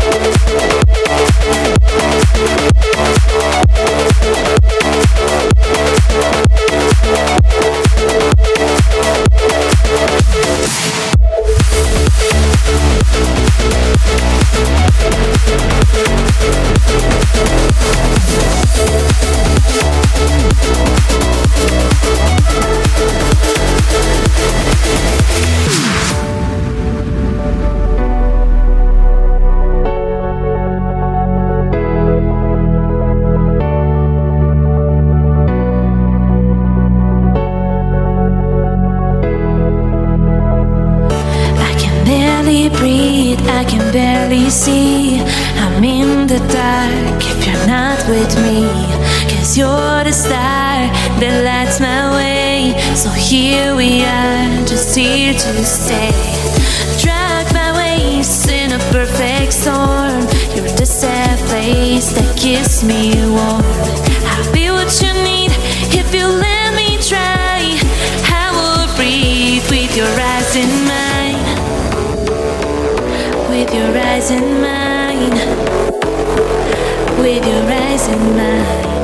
Breathe, I can barely see. I'm in the dark if you're not with me. 'Cause you're the star that lights my way. So here we are, just here to stay. Drag my waves in a perfect storm. You're the safe place that keeps me warm. I'll be what you need if you let me try. I will breathe with your eyes in mine. With your eyes in mine, with your eyes in mine.